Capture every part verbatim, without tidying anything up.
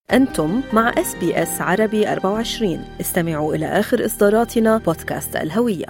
أنتم مع إس بي إس عربي أربعة وعشرين. استمعوا إلى آخر إصداراتنا بودكاست الهوية.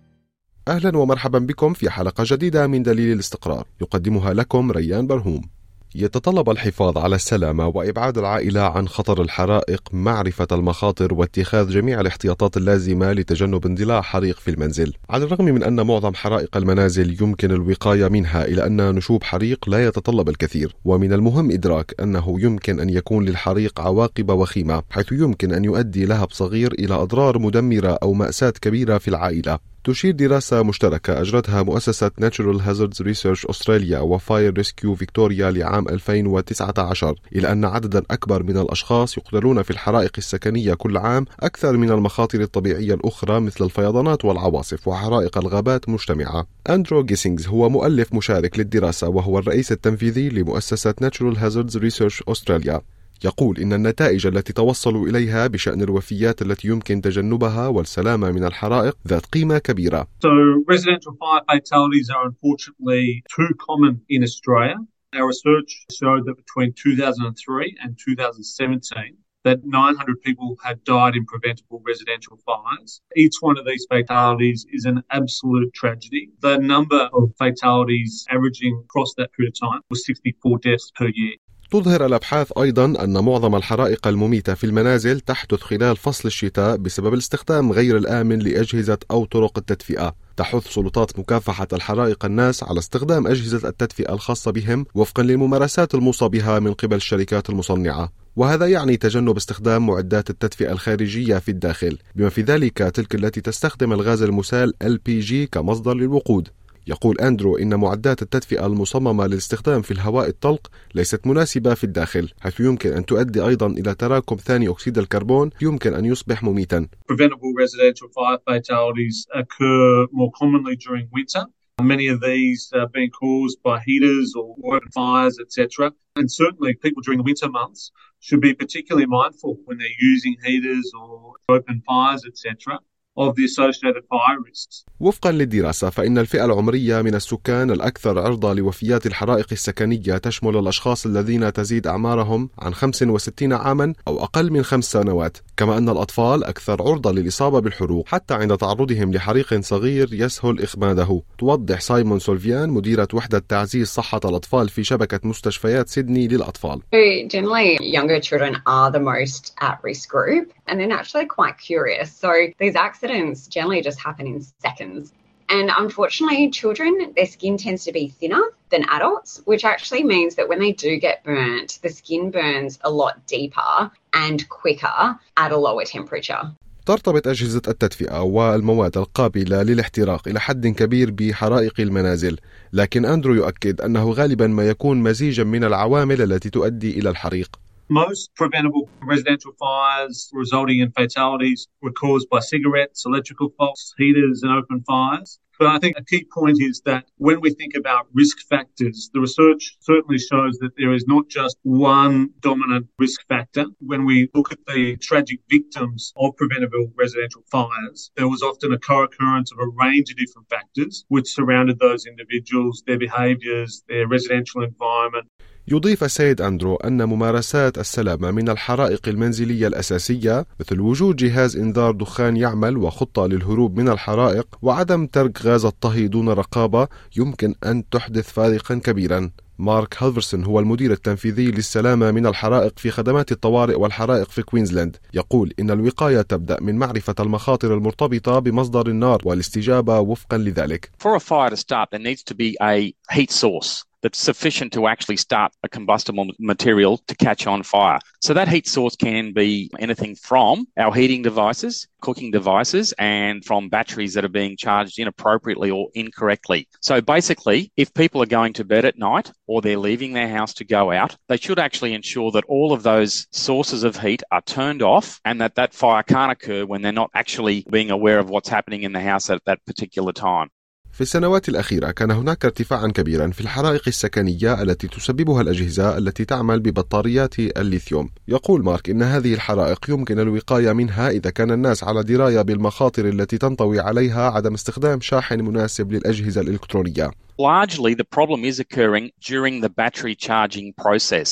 أهلا ومرحبا بكم في حلقة جديدة من دليل الاستقرار، يقدمها لكم ريان برهوم. يتطلب الحفاظ على السلامة وإبعاد العائلة عن خطر الحرائق، معرفة المخاطر واتخاذ جميع الاحتياطات اللازمة لتجنب اندلاع حريق في المنزل. على الرغم من أن معظم حرائق المنازل يمكن الوقاية منها، إلا أن نشوب حريق لا يتطلب الكثير، ومن المهم إدراك أنه يمكن أن يكون للحريق عواقب وخيمة، حيث يمكن أن يؤدي لهب صغير إلى أضرار مدمرة أو مأساة كبيرة في العائلة. تشير دراسة مشتركة أجرتها مؤسسة Natural Hazards Research أستراليا وفاير ريسكيو فيكتوريا لعام ألفين وتسعة عشر إلى أن عددا أكبر من الأشخاص يقتلون في الحرائق السكنية كل عام أكثر من المخاطر الطبيعية الأخرى مثل الفيضانات والعواصف وحرائق الغابات مجتمعة. أندرو جيسينغز هو مؤلف مشارك للدراسة وهو الرئيس التنفيذي لمؤسسة Natural Hazards Research أستراليا. يقول إن النتائج التي توصلوا إليها بشأن الوفيات التي يمكن تجنبها والسلامة من الحرائق ذات قيمة كبيرة. So residential fire fatalities are unfortunately too common in Australia. Our research showed that between two thousand three and two thousand seventeen that nine hundred people had died in preventable residential fires. Each one of these fatalities is an absolute tragedy. The number of fatalities averaging across that period of time was sixty-four deaths per year. تظهر الأبحاث أيضاً أن معظم الحرائق المميتة في المنازل تحدث خلال فصل الشتاء بسبب الاستخدام غير الآمن لأجهزة أو طرق التدفئة. تحث سلطات مكافحة الحرائق الناس على استخدام أجهزة التدفئة الخاصة بهم وفقاً للممارسات الموصى بها من قبل الشركات المصنعة، وهذا يعني تجنب استخدام معدات التدفئة الخارجية في الداخل، بما في ذلك تلك التي تستخدم الغاز المسال إل بي جي كمصدر للوقود. يقول أندرو إن معدات التدفئة المصممة للاستخدام في الهواء الطلق ليست مناسبة في الداخل، حيث يمكن أن تؤدي أيضا إلى تراكم ثاني أكسيد الكربون يمكن أن يصبح مميتا. Preventable residential fire fatalities occur more commonly during winter. Many of these are being caused by heaters or open fires, et cetera. And certainly people during the winter months should be particularly mindful when they're using heaters or open fires, et cetera. of the associated fire risks. وفقا للدراسة فإن الفئة العمرية من السكان الأكثر عرضة لوفيات الحرائق السكنية تشمل الأشخاص الذين تزيد أعمارهم عن خمس وستين عاما أو أقل من خمس سنوات، كما أن الأطفال أكثر عرضة للإصابة بالحروق حتى عند تعرضهم لحريق صغير يسهل إخماده. توضح سايمون سولفيان مديرة وحدة تعزيز صحة الأطفال في شبكة مستشفيات سيدني للأطفال. So generally younger children are the most at risk group and they're actually quite curious. So these accidents generally just happen in seconds. And unfortunately, children, their skin tends to be thinner than adults, which actually means that when they do get burnt, the skin burns a lot deeper and quicker at a lower temperature. ترتبط أجهزة التدفئة والمواد القابلة للاحتراق إلى حد كبير بحرائق المنازل، لكن أندرو يؤكد أنه غالبا ما يكون مزيجا من العوامل التي تؤدي إلى الحريق. Most preventable residential fires resulting in fatalities were caused by cigarettes, electrical faults, heaters and open fires. But I think a key point is that when we think about risk factors, the research certainly shows that there is not just one dominant risk factor. When we look at the tragic victims of preventable residential fires, there was often a co-occurrence of a range of different factors which surrounded those individuals, their behaviours, their residential environment. يضيف السيد أندرو أن ممارسات السلامة من الحرائق المنزلية الأساسية مثل وجود جهاز إنذار دخان يعمل وخطة للهروب من الحرائق وعدم ترك غاز الطهي دون رقابة يمكن أن تحدث فارقا كبيرا. مارك هالفرسون هو المدير التنفيذي للسلامة من الحرائق في خدمات الطوارئ والحرائق في كوينزلاند. يقول إن الوقاية تبدأ من معرفة المخاطر المرتبطة بمصدر النار والاستجابة وفقا لذلك. For a fire to start, there needs to be a heat source that's sufficient to actually start a combustible material to catch on fire. So that heat source can be anything from our heating devices, cooking devices, and from batteries that are being charged inappropriately or incorrectly. So basically, if people are going to bed at night or they're leaving their house to go out, they should actually ensure that all of those sources of heat are turned off and that that fire can't occur when they're not actually being aware of what's happening in the house at that particular time. في السنوات الأخيرة كان هناك ارتفاعا كبيرا في الحرائق السكنية التي تسببها الأجهزة التي تعمل ببطاريات الليثيوم. يقول مارك إن هذه الحرائق يمكن الوقاية منها إذا كان الناس على دراية بالمخاطر التي تنطوي عليها عدم استخدام شاحن مناسب للأجهزة الإلكترونية. Largely the problem is occurring during the battery charging process.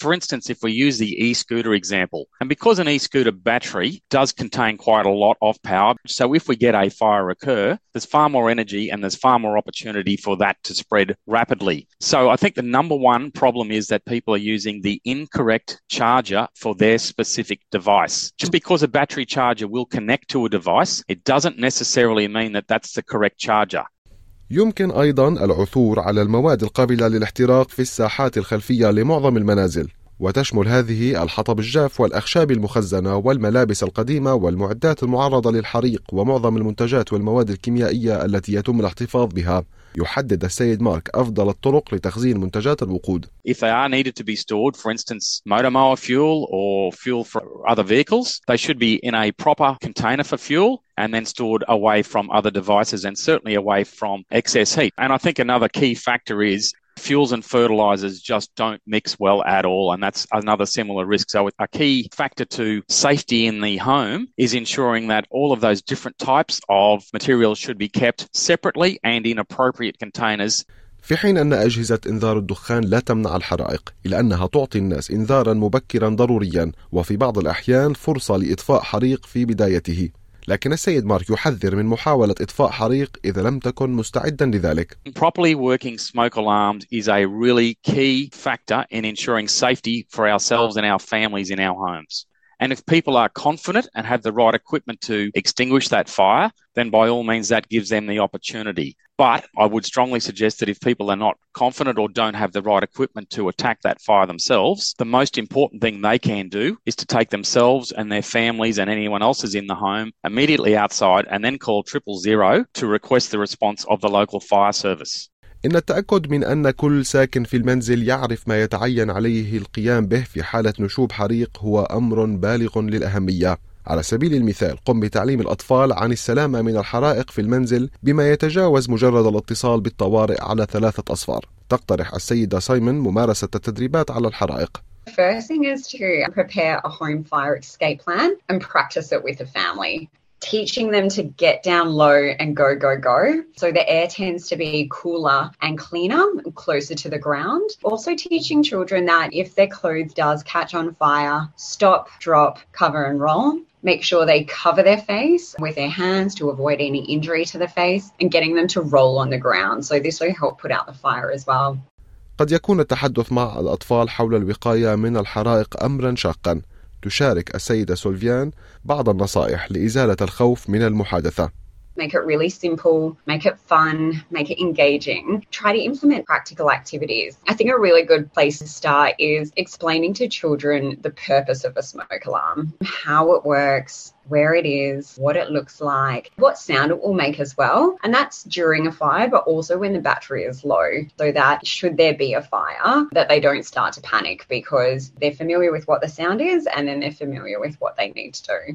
For instance, if we use the e-scooter example, and because an e-scooter battery does contain quite a lot of power, so if we get a fire occur, there's far more energy and there's far more opportunity for that to spread rapidly. So I think the number one problem is that people are using the incorrect charger for their specific device. Just because a battery charger will connect to a device, it doesn't necessarily mean that that's the correct charger. يمكن أيضا العثور على المواد القابلة للاحتراق في الساحات الخلفية لمعظم المنازل، وتشمل هذه الحطب الجاف والأخشاب المخزنة والملابس القديمة والمعدات المعرضة للحريق ومعظم المنتجات والمواد الكيميائية التي يتم الاحتفاظ بها. يحدد السيد مارك أفضل الطرق لتخزين منتجات الوقود. If they are needed to be stored, for instance, motor mower fuel or fuel for other vehicles, they should be in a proper container for fuel and then stored away from other devices and certainly away from excess heat. And I think another key factor is fuels and fertilizers just don't mix well at all, and that's another similar risk. So a key factor to safety in the home is ensuring that all of those different types of materials should be kept separately and in appropriate containers. في حين أن أجهزة إنذار الدخان لا تمنع الحرائق، إلا أنها تعطي الناس إنذارا مبكرا ضروريا وفي بعض الأحيان فرصة لإطفاء حريق في بدايته. لكن السيد مارك يحذر من محاولة إطفاء حريق إذا لم تكن مستعدا لذلك. Properly working smoke alarms is a really key factor in ensuring safety for ourselves and our families in our homes. And if people are confident and have the right equipment to extinguish that fire, then by all means that gives them the opportunity. But I would strongly suggest that if people are not confident or don't have the right equipment to attack that fire themselves, the most important thing they can do is to take themselves and their families and anyone else is in the home immediately outside and then call triple zero to request the response of the local fire service. إن التأكد من أن كل ساكن في المنزل يعرف ما يتعين عليه القيام به في حالة نشوب حريق هو أمر بالغ للأهمية. على سبيل المثال، قم بتعليم الأطفال عن السلامة من الحرائق في المنزل بما يتجاوز مجرد الاتصال بالطوارئ على ثلاثة أصفار. تقترح السيدة سايمون ممارسة التدريبات على الحرائق. The first thing is to prepare a home fire escape plan and practice it with the family. Teaching them to get down low and go, go, go. So the air tends to be cooler and cleaner, closer to the ground. Also teaching children that if their clothes does catch on fire, stop, drop, cover and roll. Make sure they cover their face with their hands to avoid any injury to the face and getting them to roll on the ground. So this will help put out the fire as well. قد يكون التحدث مع الأطفال حول الوقاية من الحرائق أمرا شاقا. تشارك السيدة سولفيان بعض النصائح لإزالة الخوف من المحادثة. Make it really simple, make it fun, make it engaging. Try to implement practical activities. I think a really good place to start is explaining to children the purpose of a smoke alarm, how it works, where it is, what it looks like, what sound it will make as well. And that's during a fire, but also when the battery is low, so that should there be a fire, that they don't start to panic because they're familiar with what the sound is and then they're familiar with what they need to do.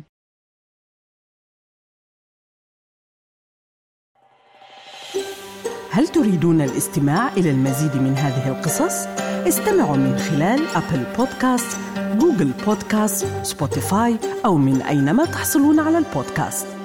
هل تريدون الاستماع إلى المزيد من هذه القصص؟ استمعوا من خلال أبل بودكاست، جوجل بودكاست، سبوتيفاي أو من أينما تحصلون على البودكاست.